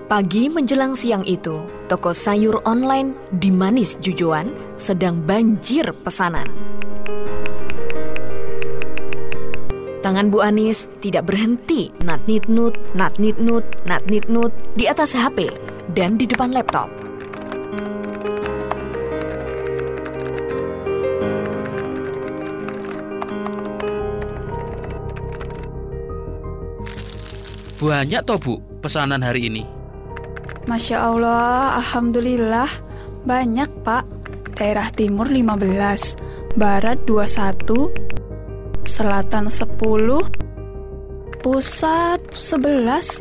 Pagi menjelang siang itu, toko sayur online di Manis Jujuan sedang banjir pesanan. Tangan Bu Anis tidak berhenti nat-nit-nut di atas HP dan di depan laptop. Banyak toh Bu pesanan hari ini? Masya Allah, Alhamdulillah. Banyak Pak. Daerah Timur 15, Barat 21, Selatan 10, Pusat 11.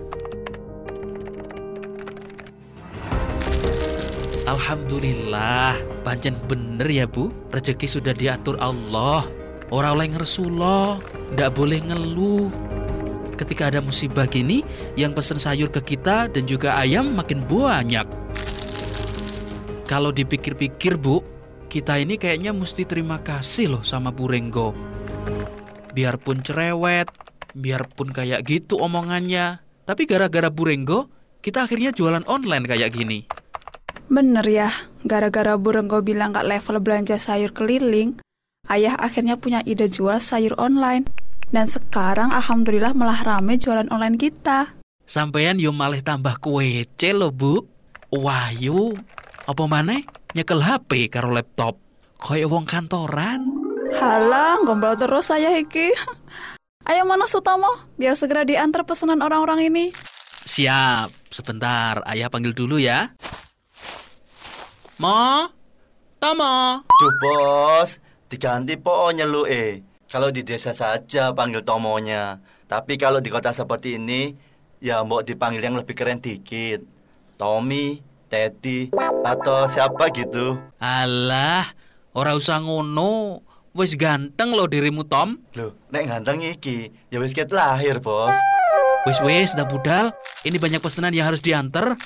Alhamdulillah, pancen bener ya Bu. Rezeki sudah diatur Allah. Ora oleh ngersulo, ndak boleh ngeluh. Ketika ada musibah gini, yang pesen sayur ke kita dan juga ayam makin banyak. Kalau dipikir-pikir Bu, kita ini kayaknya mesti terima kasih loh sama Bu Renggo. Biarpun cerewet, biarpun kayak gitu omongannya, tapi gara-gara Bu Renggo, kita akhirnya jualan online kayak gini. Bener ya, gara-gara Bu Renggo bilang gak level belanja sayur keliling, ayah akhirnya punya ide jual sayur online. Dan sekarang Alhamdulillah malah rame jualan online kita. Sampeyan yo malih tambah kuece loh Bu. Wahyu, apa maneh nyekel HP karo laptop kaya wong kantoran. Halah, gombal terus saya iki. Ayo mana Sutomo, biar segera diantar pesanan orang-orang ini. Siap, sebentar, ayah panggil dulu ya. Mo, Tomo. Duh bos, diganti po nyelu Kalau di desa saja panggil Tomonya. Tapi kalau di kota seperti ini, ya mbok dipanggil yang lebih keren dikit. Tommy, Teddy, atau siapa gitu. Alah, ora usah ngono. Wis ganteng lo dirimu Tom. Loh, nek ganteng iki, ya wis ket lahir bos. Wis dah budal. Ini banyak pesanan yang harus diantar.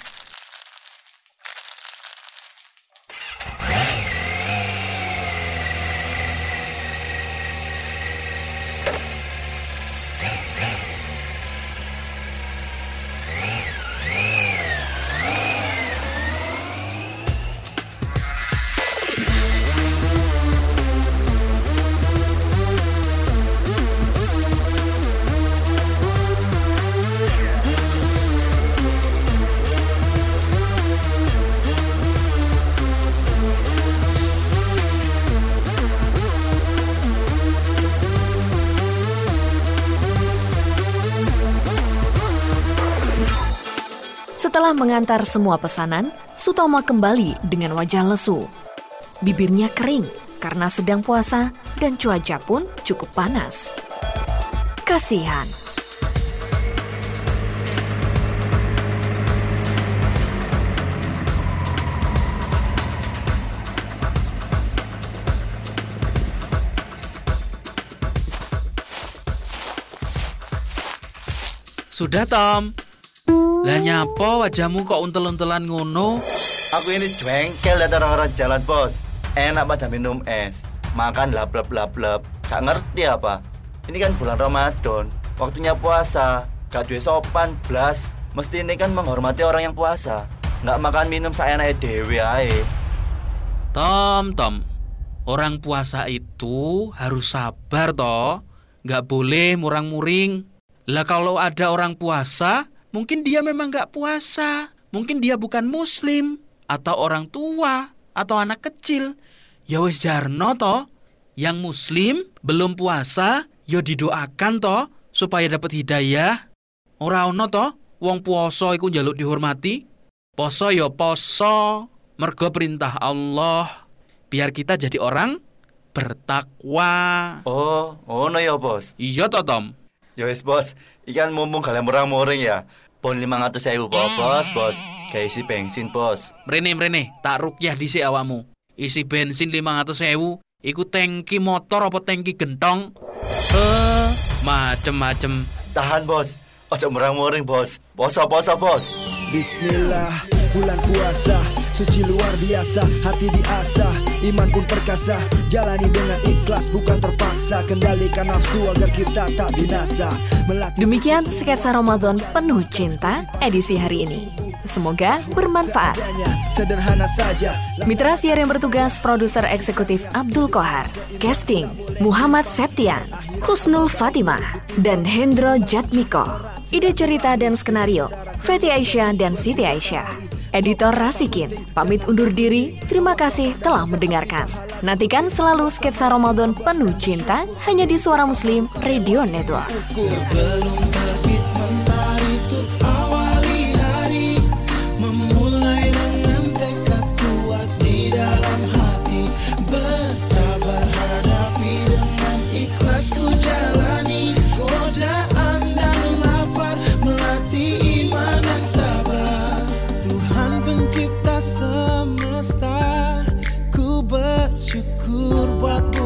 Setelah mengantar semua pesanan, Sutomo kembali dengan wajah lesu. Bibirnya kering karena sedang puasa dan cuaca pun cukup panas. Kasihan. Sudah Tom. Lah nyapa wajahmu kok untel-untelan ngono? Aku ini jengkel lihat orang-orang jalan bos. Enak pada minum es, makan lablab. Gak ngerti apa. Ini kan bulan Ramadan, waktunya puasa. Gak duwe sopan blas. Mesti ini kan menghormati orang yang puasa. Gak makan minum saenake dhewe ae. Tom, orang puasa itu harus sabar toh. Gak boleh murang-muring. Lah kalau ada orang puasa, mungkin dia memang gak puasa. Mungkin dia bukan muslim, atau orang tua, atau anak kecil. Ya wis jarno toh. Yang muslim belum puasa, ya didoakan toh supaya dapat hidayah. Ora ono toh wong puasa iku njaluk dihormati. Poso ya poso, mergo perintah Allah. Biar kita jadi orang bertakwa. Oh, ono ya bos. Iya toh Tom. Ya wis bos, ikan mumpung kalian murang-muring ya. Pon 500.000 bos. Kayak isi bensin bos. Mrene, tak rukyah dhisik awakmu. Isi bensin 500.000, iku tangki motor apa tangki gentong? Macem-macem. Tahan bos, ojo murang-muring bos. Poso bos. Bismillah, bulan puasa, suci luar biasa, hati diasah, iman pun perkasa, jalani dengan ikhlas bukan terpaksa, kendalikan nafsu agar kita tak binasa. Demikian sketsa Ramadan penuh cinta edisi hari ini. Semoga bermanfaat. Sederhana saja. Mitra siar yang bertugas produser eksekutif Abdul Kohar, casting Muhammad Septian, Husnul Fatimah, dan Hendro Jatmiko. Ide cerita dan skenario Feti Aisyah dan Siti Aisyah. Editor Rasikin, pamit undur diri. Terima kasih telah mendengarkan. Nantikan selalu sketsa Ramadan penuh cinta hanya di Suara Muslim Radio Network. Sebelum terbit mentari tuh awali hari, memulai dengan tekad kuat di dalam hati, bersabar hadapi dengan ikhlas ku jalani godaan dan lapar, melatih iman dan sabar. Tuhan pencipta semesta, ku bersyukur buat